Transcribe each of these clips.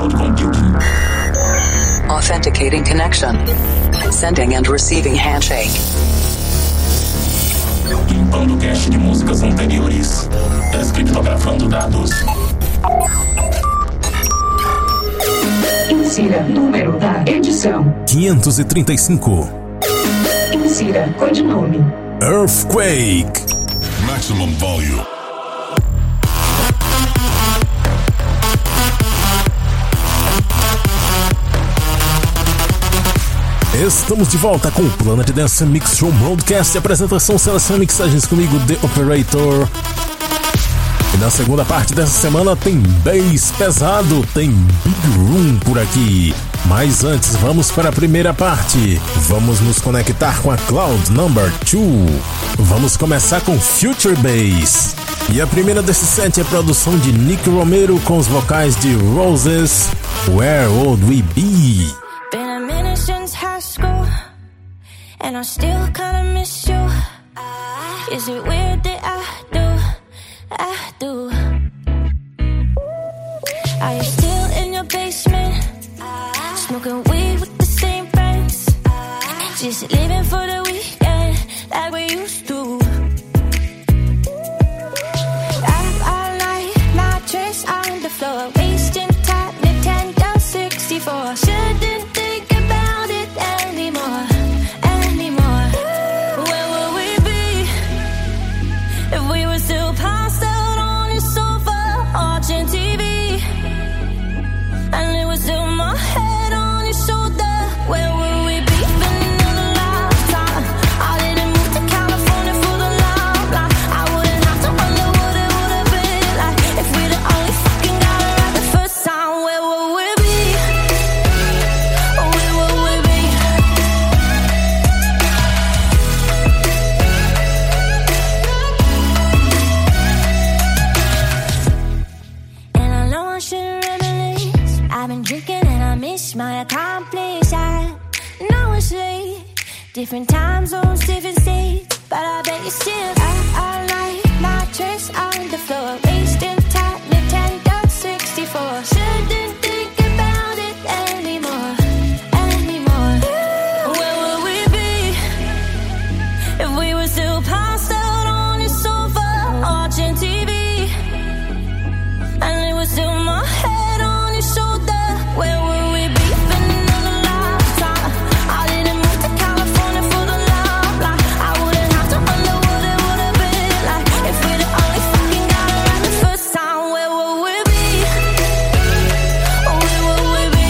cloud computing. Authenticating connection. Sending and receiving handshake. Limpando cache de músicas anteriores. Descriptografando dados. Insira número da edição 535. Insira codinome Earthquake. Maximum volume. Estamos de volta com o Planet Dance Mix Show Broadcast. Apresentação, seleção e mixagens comigo, The Operator. E na segunda parte dessa semana tem bass pesado, tem Big Room por aqui. Mas antes, vamos para a primeira parte. Vamos nos conectar com a Cloud Number 2. Vamos começar com Future Bass. E a primeira desse set é a produção de Nick Romero com os vocais de Roses, Where Would We Be? Been a minute since high school, and I still kinda miss you. Is it weird that I do? Are you still in your basement, smoking weed with the same friends, just living for the weekend like we used to? Up all night, mattress on the floor, wasting time, Nintendo 64. Shouldn't think about it anymore. Where would we be if we were still passed out on your sofa watching TV? And it was still my head on your shoulder. Where would we be? Spending another lifetime. I didn't move to California for the love life. I wouldn't have to wonder what it would have been like if we'd have only fucking got it right the first time. Where would we be? Where would we be? And I know I shouldn't reminisce. I've been drinking and I miss my accomplice. I know it's late, different time zones, different states, but I bet you still up all night, mattress on the floor, wasting time, Nintendo 64. Shouldn't think about it anymore. Where would we be if we were still passed out on your sofa watching TV? And it was still my head on your shoulder. Where would we be? Spending another lifetime. I didn't move to California for the love life. I wouldn't have to wonder what it would have been like if we'd have only fucking got it right the first time. Where would we be? Where would we be?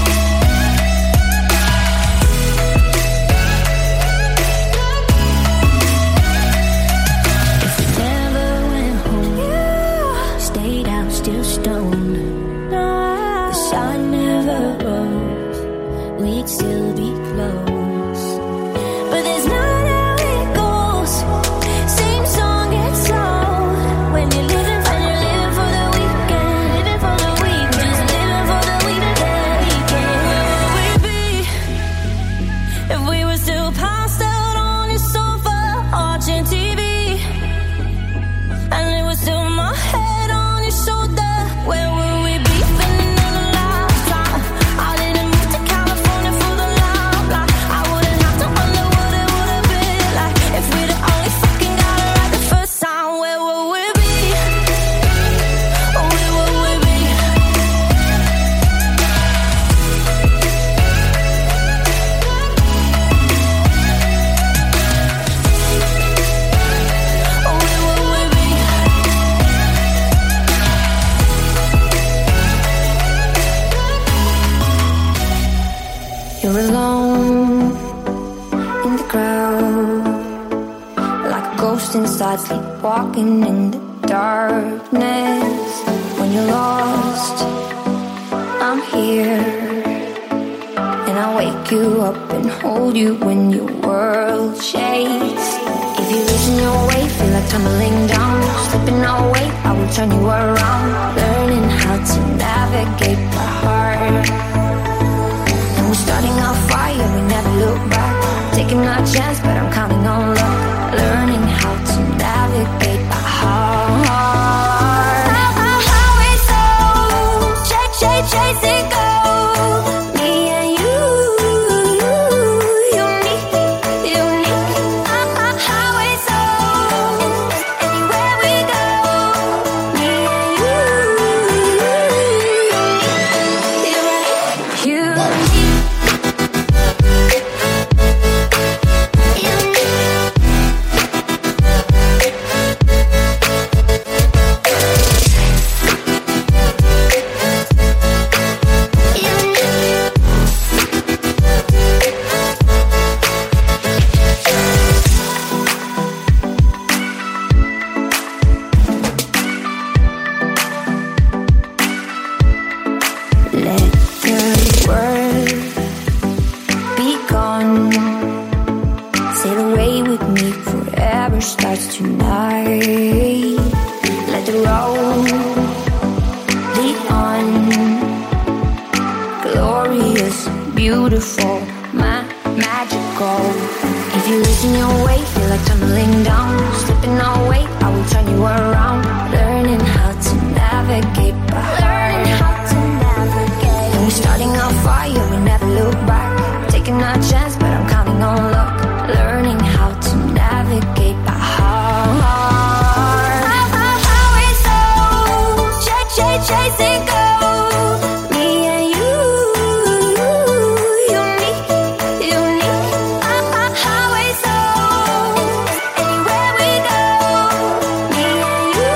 If we never went home, stayed out still stoned, the sun never rose, we'd still be close. But there's not how it goes. Same song gets old when you're living for the weekend, living for the weekend, just living for the weekend. Where would we be if we were still passed out on your sofa watching TV? And it was still my head on your shoulder. Where would we be? Spending another lifetime. I didn't move to California for the love life. I wouldn't have to wonder what it would have been like if we'd have only fucking got it right the first time. Where would we be? Where would we be? Where would we be? You're alone in the crowd, like a ghost inside, sleepwalking in the darkness. When you're lost, I'm here, and I wake you up and hold you when your world shakes. If you're losing your way, feel like tumbling down, slipping away, I will turn you around. Learning how to navigate my heart. And we're starting our fire, we never look back. Taking our chance, but I'm counting on luck. Learning how to navigate my heart. How it's so shake, shake, chase it go. Me and you, unique. Highway soul. Anywhere we go. Me and you, unique. Let the world be gone. Sail away with me, forever starts tonight. Let the road lead on. Glorious, beautiful, magical. If you listen your way, feel like tumbling down. Slipping away, I will turn you around. Learning how to navigate, learning how to navigate. And we're starting our fire, we never look back. Taking our chance, but I'm counting on luck. Learning how to navigate by heart. Highway soul, chase it go. Me and you, unique. Highway soul, anywhere we go. Me and you,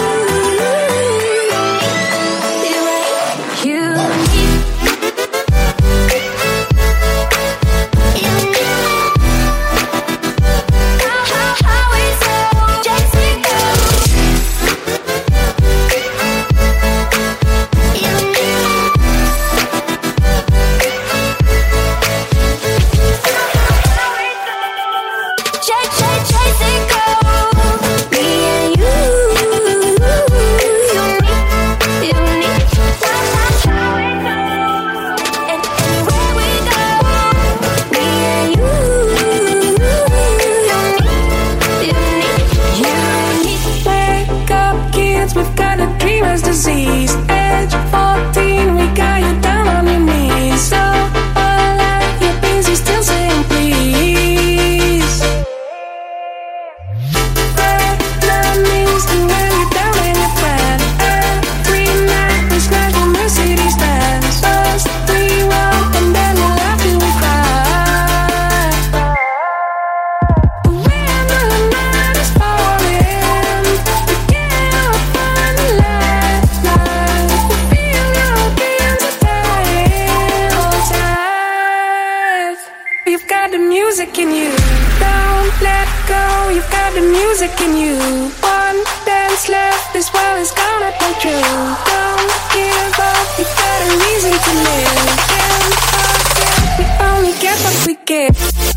disease. Age 14, we got you down on your knees. So all like you're busy, still saying please. Enemies can wear you down in your plan. Every night we smash the Mercedes Benz. First we walk and then we laugh till we cry. But when the night is falling, we get up on the lifeline. We feel your beams of pain all tight. You've got the music in you. Don't let go. You've got the music in you. One dance left. This world is gonna come true. Don't give up. You've got a reason to live. Can't forget. We only get what we give.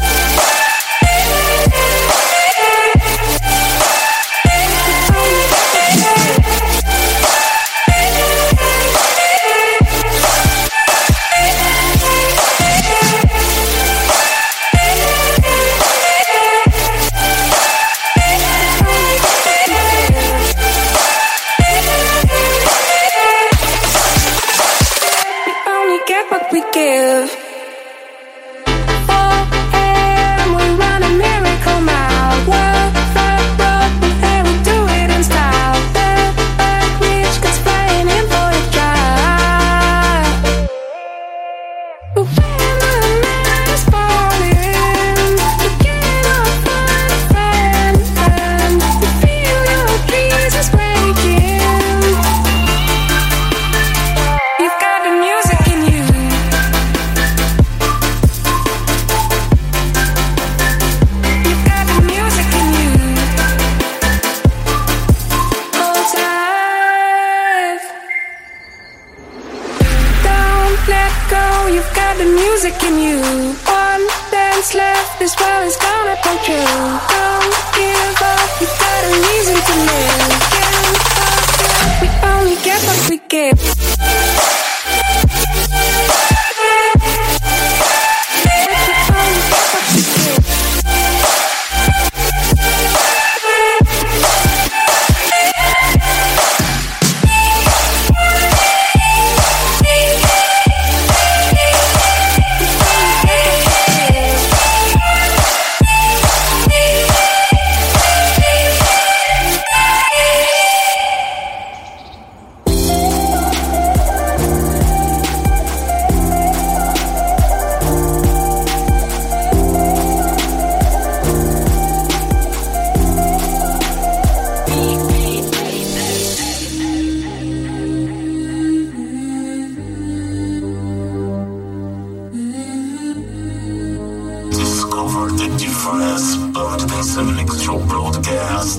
Get what we give. 4 a.m. we run a miracle mile. World flag road, and we do it in style. The back reach gets flying in for a drive. But when the night is falling, we get off on a friend, and we feel your dreams is breaking. You've got the music in you. You've got the music in you. Hold tight. Don't let go. You've got the music in you. One dance left. This world is gonna come true. Don't give up. You've got a reason to live. Can't forget. We only get what we give. Show Broadcast.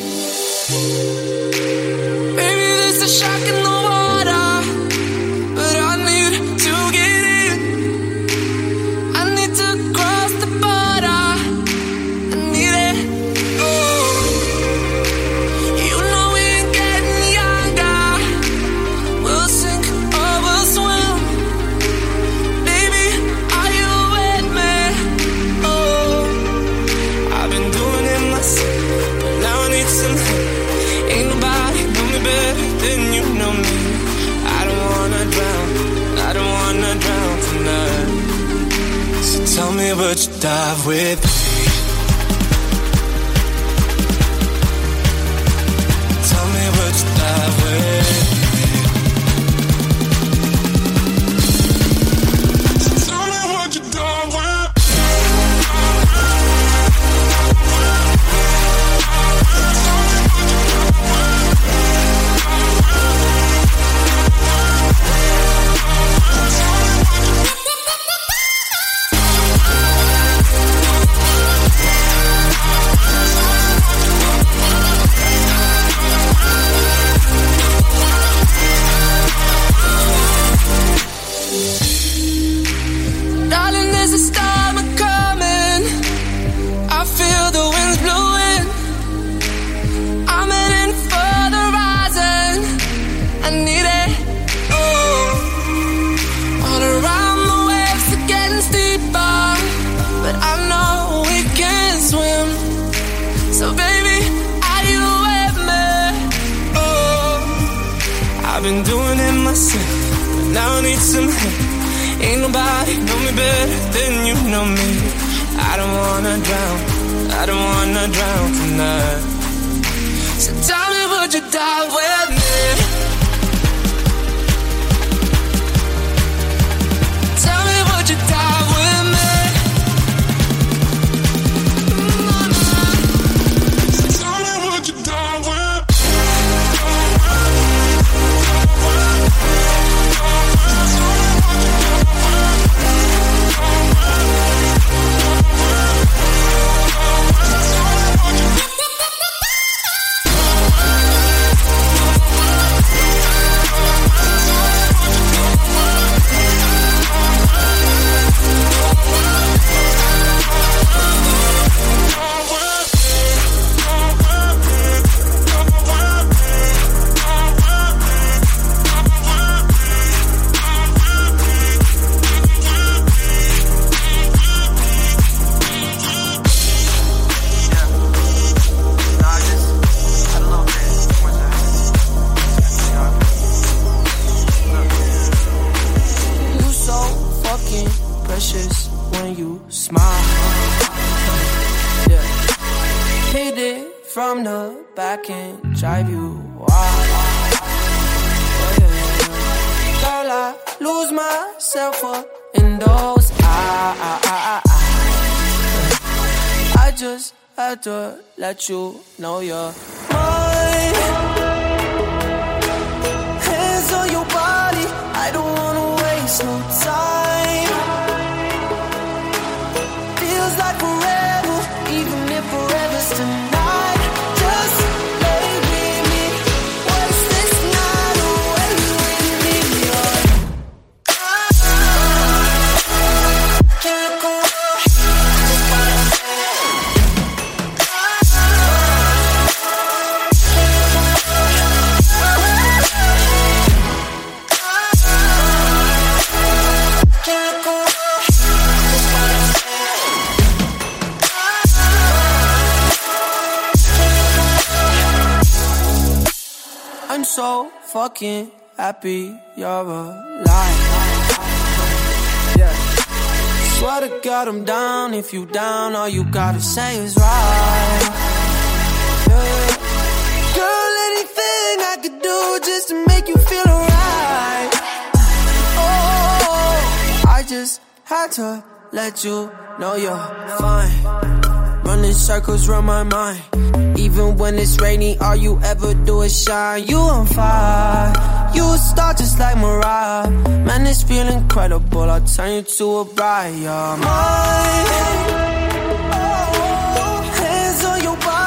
Maybe there's a shock in the water, but I need to get in. I need to cross the border. I need it. Oh, you know we ain't getting younger. We'll sink or we'll swim. Baby, are you with me? Oh, I've been doing it myself, but now I need some help. Ain't nobody know me better than you know me. I don't wanna drown tonight. So tell me would you dive with me? Tell me would you dive with me? So tell me would you dive with me? Darling, there's a storm coming. I feel the winds blowing. I'm heading for the horizon. I need it. Oh, all around the waves are getting steeper, but I know we can swim. So baby, are you with me? Oh, I've been doing it myself, but now I need some help. Ain't nobody know me better than you know me. I don't wanna drown tonight. So tell me would you dive with me? Tell me would you dive with me? So tell me would you dive with me? From the back and drive you wild. Girl, I lose myself up in those eyes. I just had to let you know you're mine. Hands on your body, I don't wanna waste no time. Feels like forever, even if forever's tonight. I'm so fucking happy you're alive. Yeah. Swear to God I'm down. If you down, all you gotta say is right. Yeah. Girl, anything I could do just to make you feel alright. Oh, I just had to let you know you're fine. Running circles round my mind. Even when it's rainy, all you ever do is shine. You on fire, you a star just like Mariah. Man, this feel incredible, I'll turn you to a bride. You're mine. Hands on your body.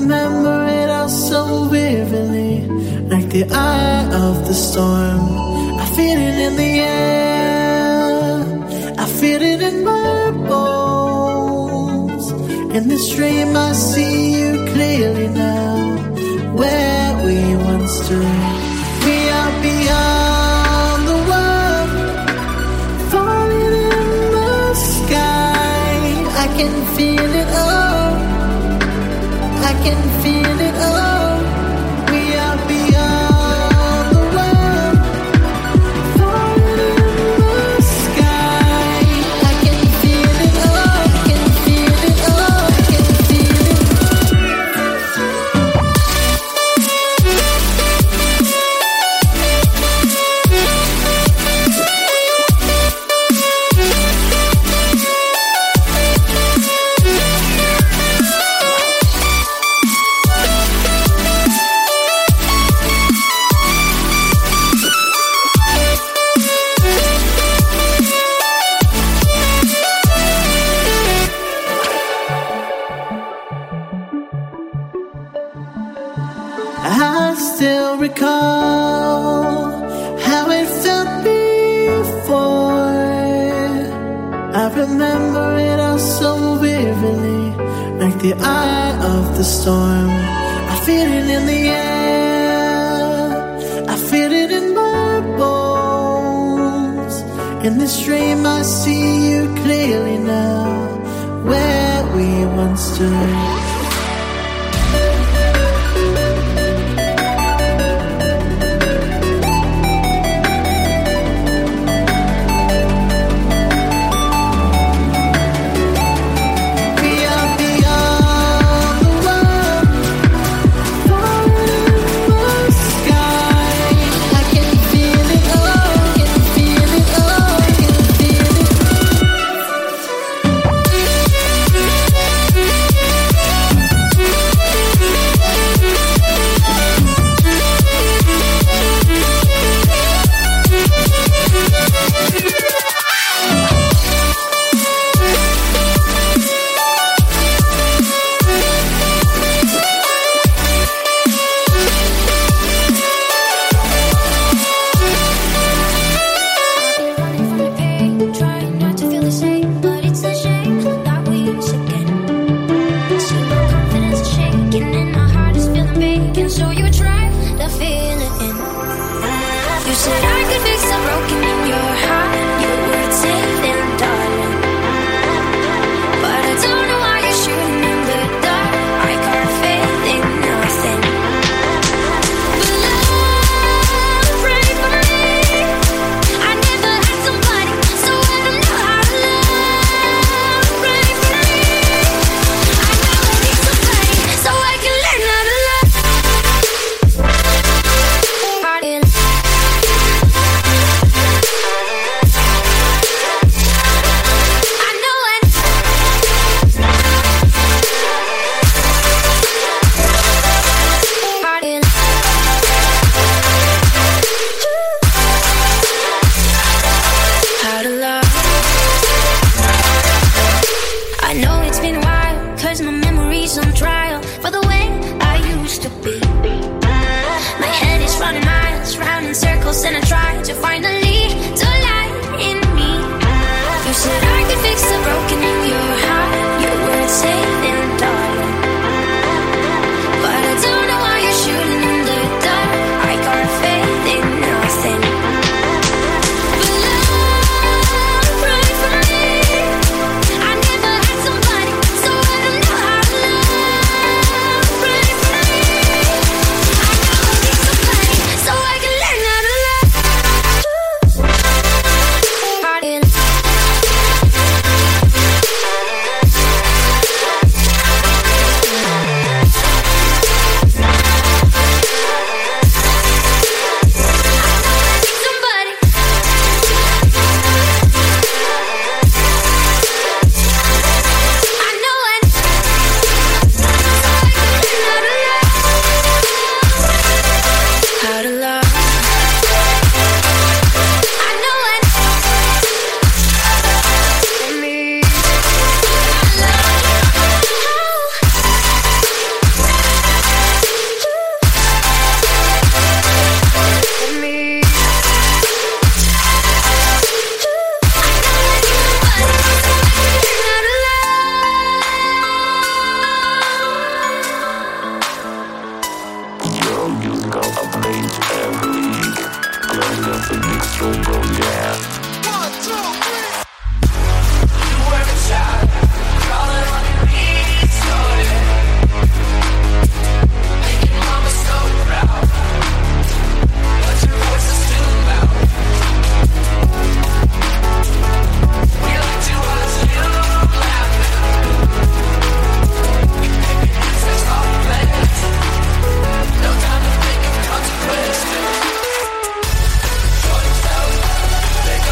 remember it all so vividly, like the eye of the storm. I feel it in the air, I feel it in my bones. In this dream I see you clearly now, where we once stood. We are beyond the world, falling in the sky. I can feel it all, I can feel it all. We are beyond the world, falling in the sky. I can feel it all, I can feel it all, I can feel it. I still recall how it felt before. I remember it all so vividly, like the eye of the storm. I feel it in the air, I feel it in my bones. In this dream I see you clearly now, where we once stood. Consequences.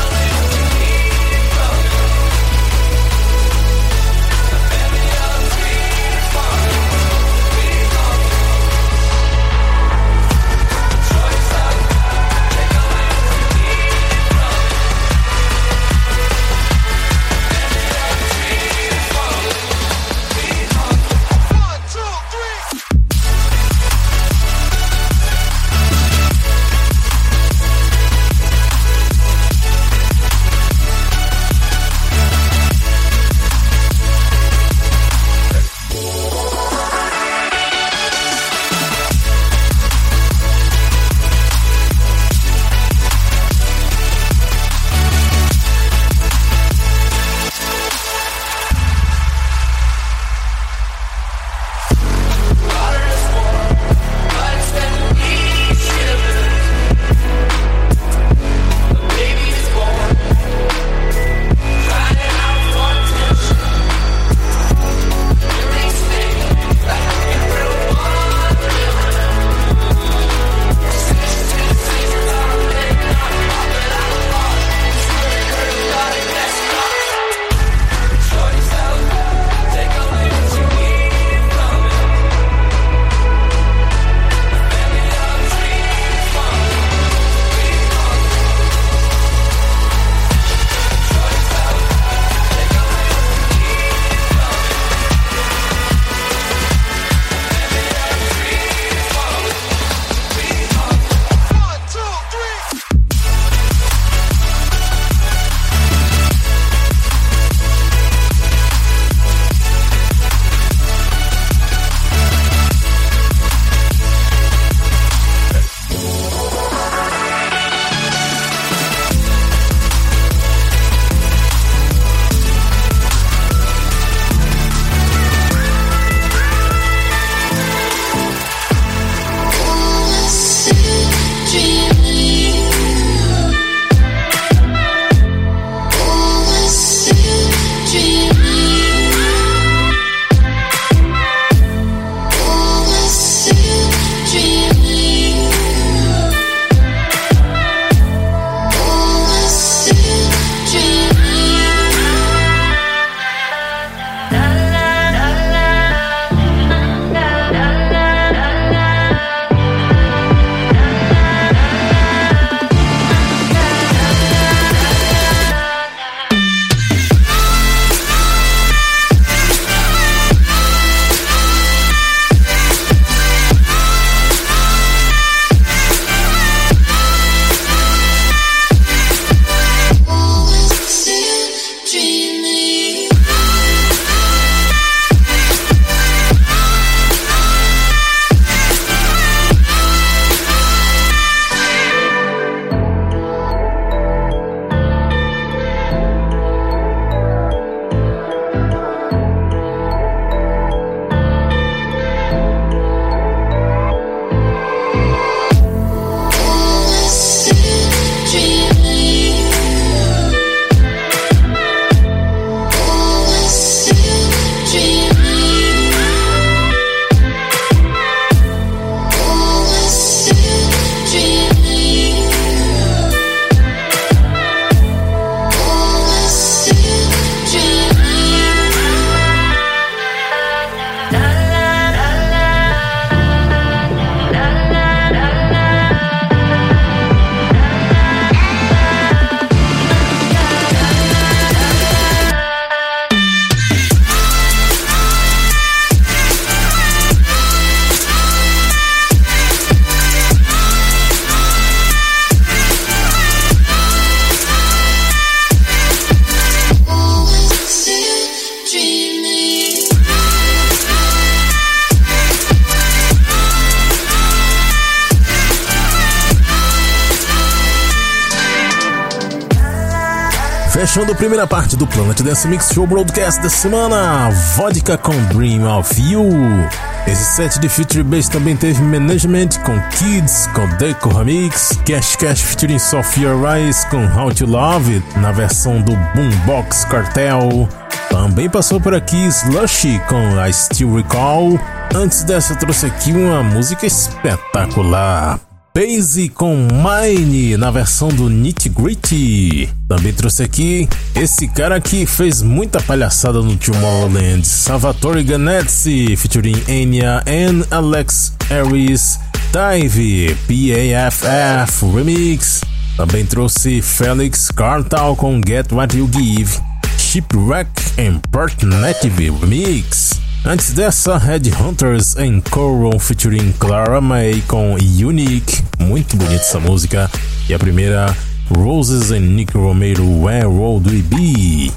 Fechando a primeira parte do Planet Dance Mix Show Broadcast da semana, Vodka com Dream of You. Esse set de Future Bass também teve Management com Kids, com Deco Remix, Cash featuring Sophia Rice com How to Love It, na versão do Boombox Cartel. Também passou por aqui Slushy com I Still Recall. Antes dessa eu trouxe aqui uma música espetacular, Basie com Mine, na versão do Nitty Gritty. Também trouxe aqui esse cara que fez muita palhaçada no Tomorrowland, Salvatore Ganezzi, featuring Enya and Alex Harris, Dive, PAFF Remix. Também trouxe Felix Cartal com Get What You Give, Shipwreck and Partnative Remix. Antes dessa, Headhunters and Coral featuring Clara May com Unique, muito bonita essa música. E a primeira, Roses and Nick Romero, Where Would We Be?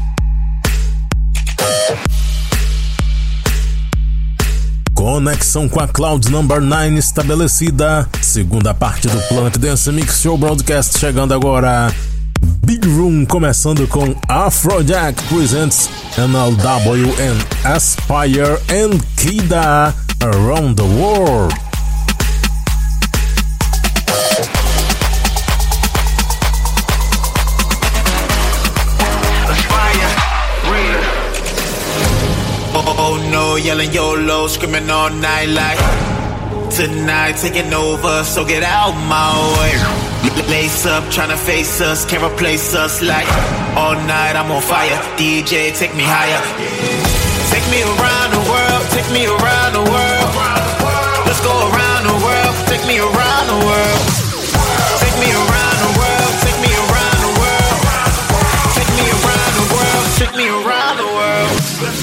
Conexão com a Cloud Number 9 estabelecida. Segunda parte do Planet Dance Mix Show Broadcast chegando agora. Big Room começando com Afrojack Presents NLW and Aspire and Kida Around the World. Oh no, yelling YOLO, screaming all night like tonight taking over, so get out my way. Lace up, tryna face us, can't replace us like all night I'm on fire. DJ, take me higher. Take me around the world, take me around the world. Let's go around the world, take me around the world. Take me around the world, take me around the world. Take me around the world, take me around the world.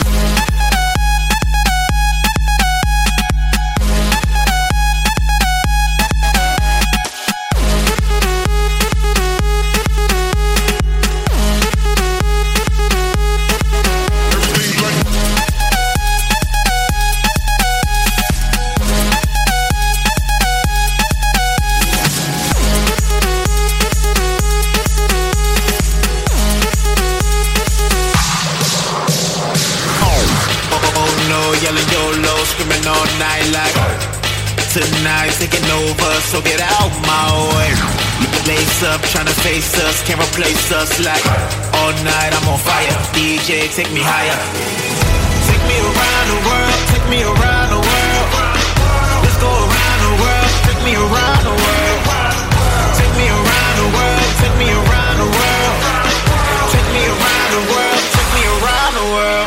Screaming all night like tonight taking over, so get out my way. Lace up, tryna face us, can't replace us like all night I'm on fire. DJ, take me higher. Take me around the world, take me around the world. Let's go around the world, take me around the world. Take me around the world, take me around the world. Take me around the world, take me around the world.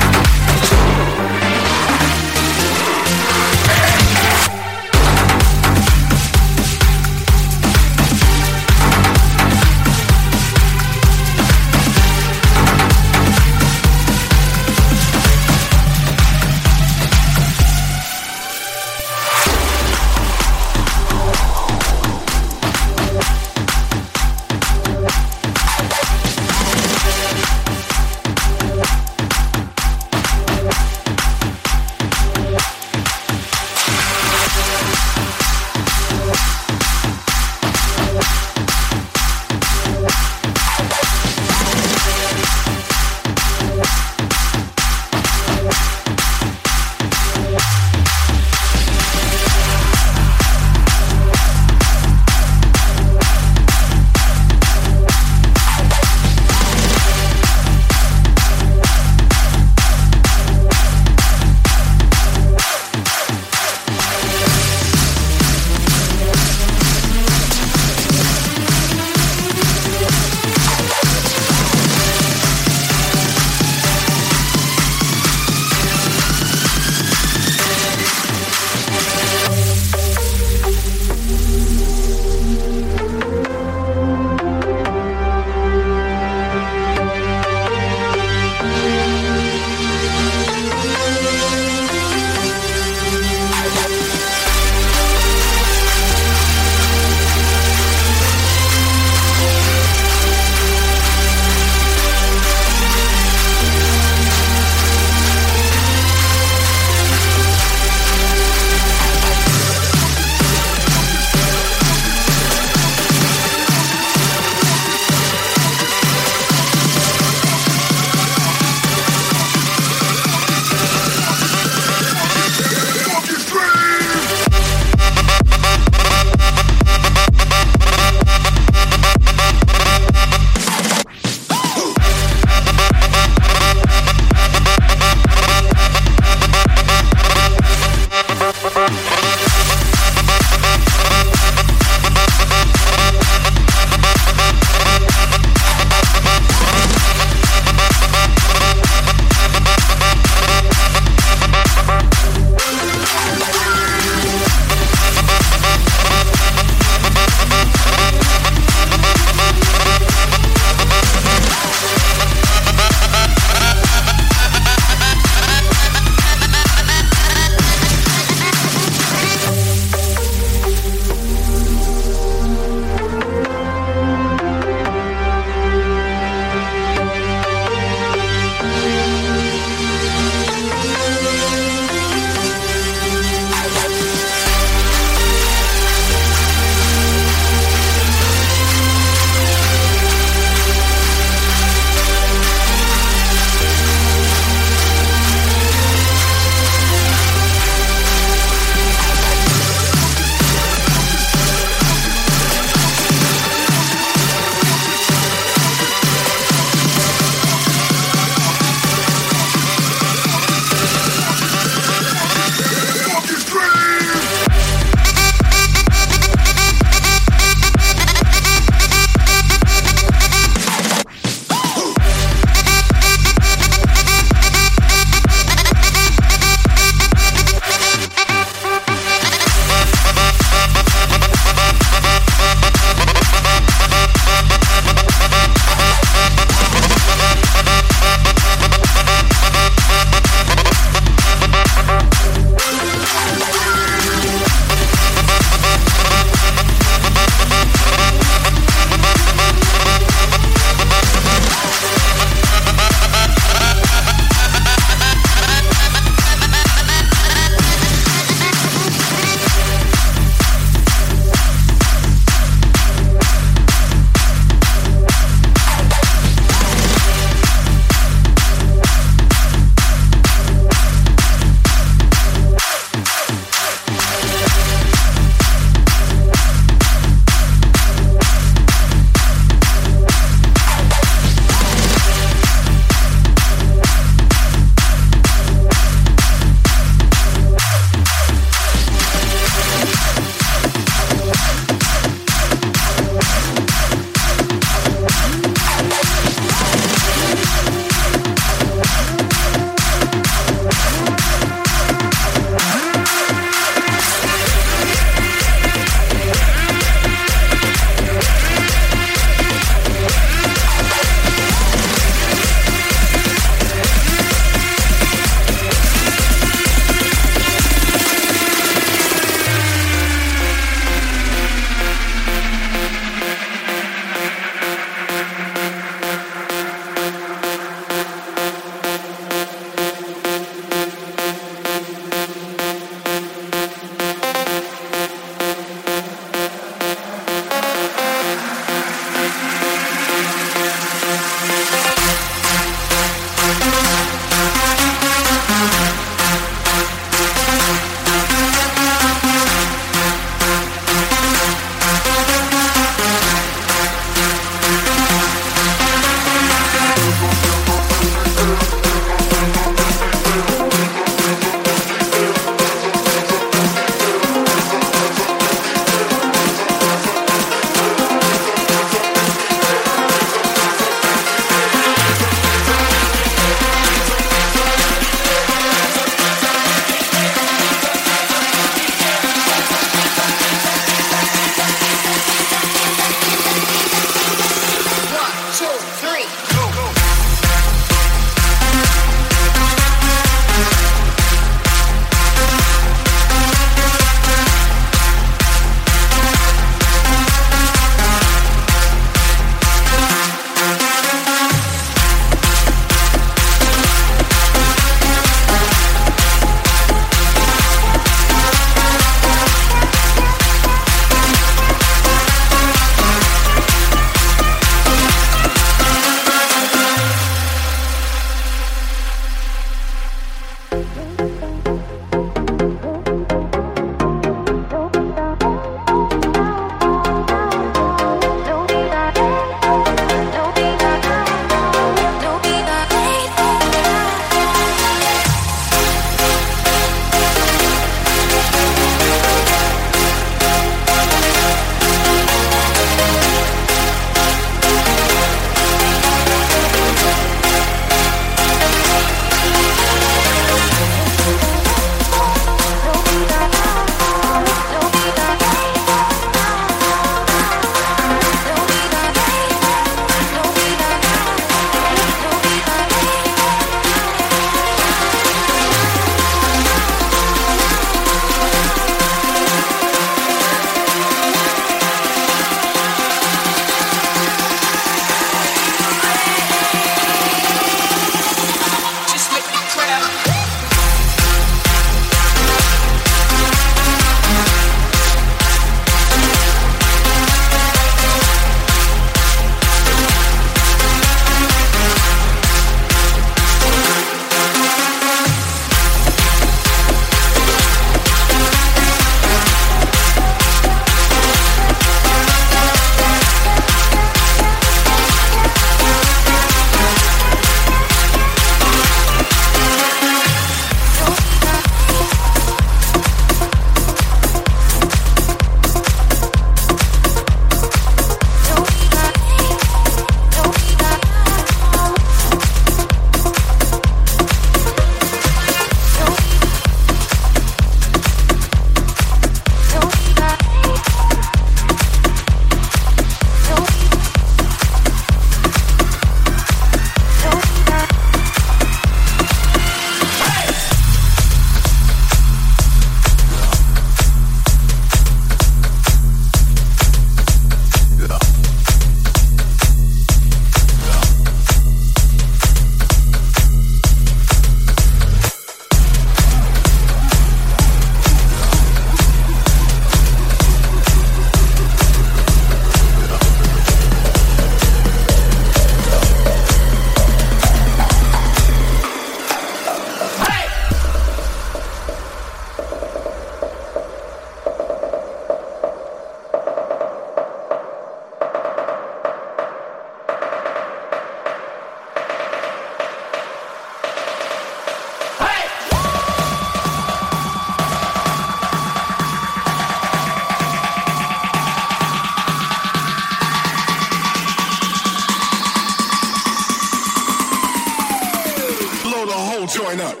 join up.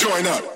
join up.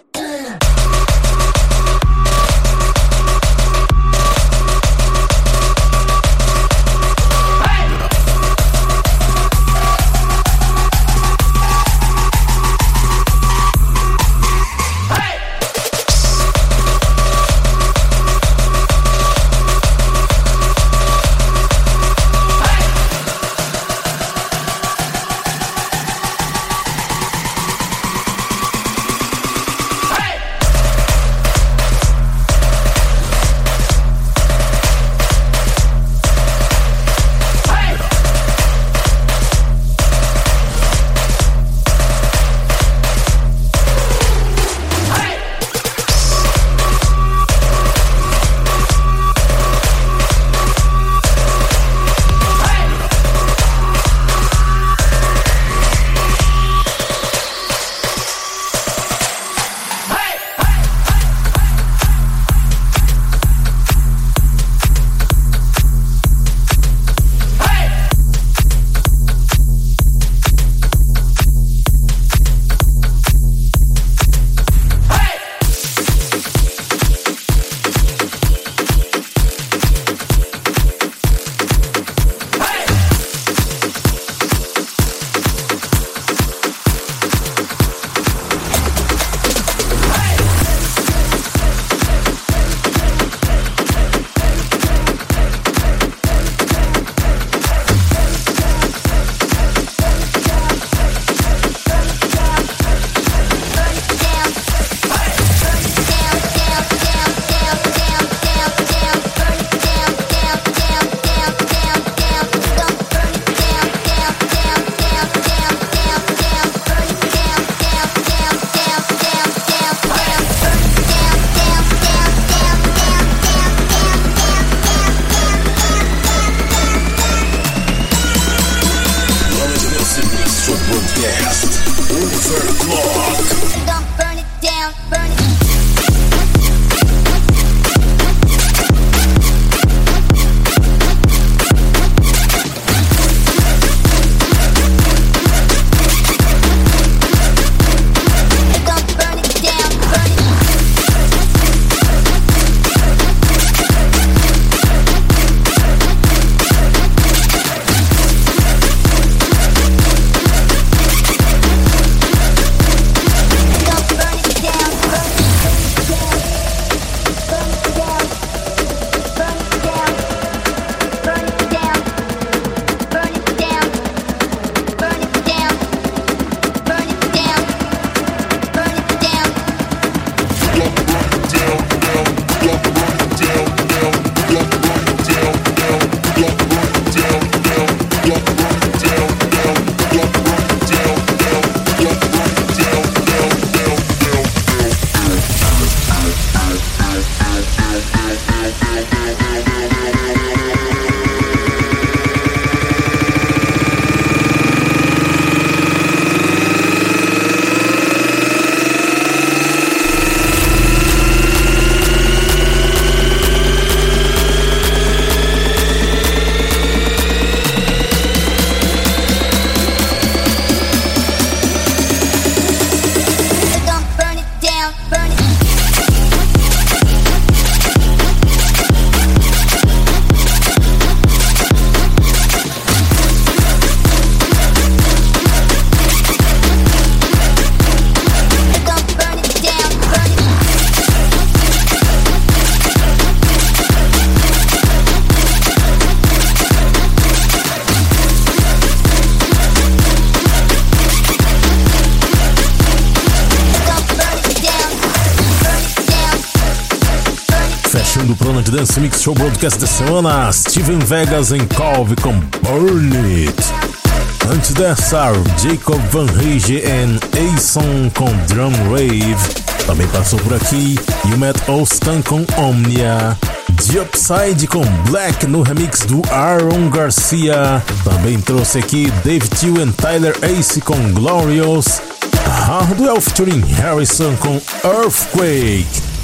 Do Planet Dance Mix Show Broadcast da semana, Steven Vegas em Calvi com Burn It. Antes dessa, Jacob Van Rige e Ason com Drum Rave. Também passou por aqui Yumet Ostan com Omnia. The Upside com Black no remix do Aaron Garcia. Também trouxe aqui Dave Till e Tyler Ace com Glorious. Hardwell featuring Harrison com Earthquake.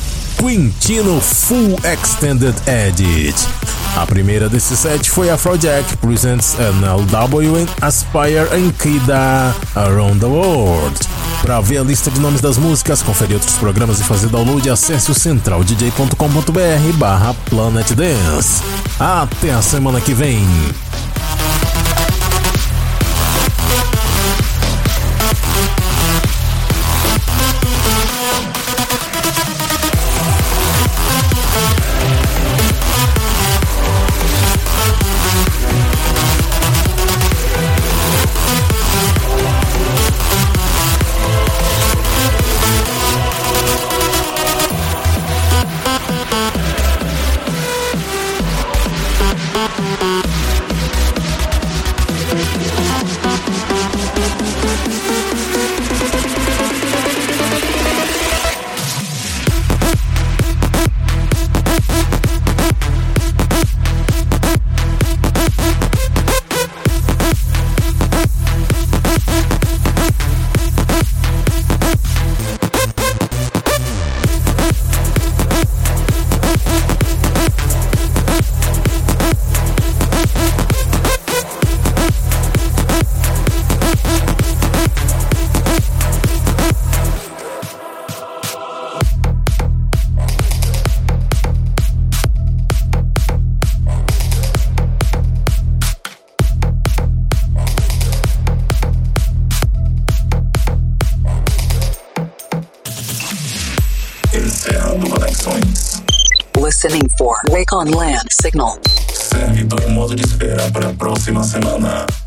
Quintino Full Extended Edit. A primeira desse set foi Afrojack Presents NLW and Aspire and Kida Around the World. Para ver a lista de nomes das músicas, conferir outros programas e fazer download, acesse o centraldj.com.br/Planet Dance. Até a semana que vem. Encerrando conexões. Listening for Wake on Land signal. Servidor em modo de espera para a próxima semana.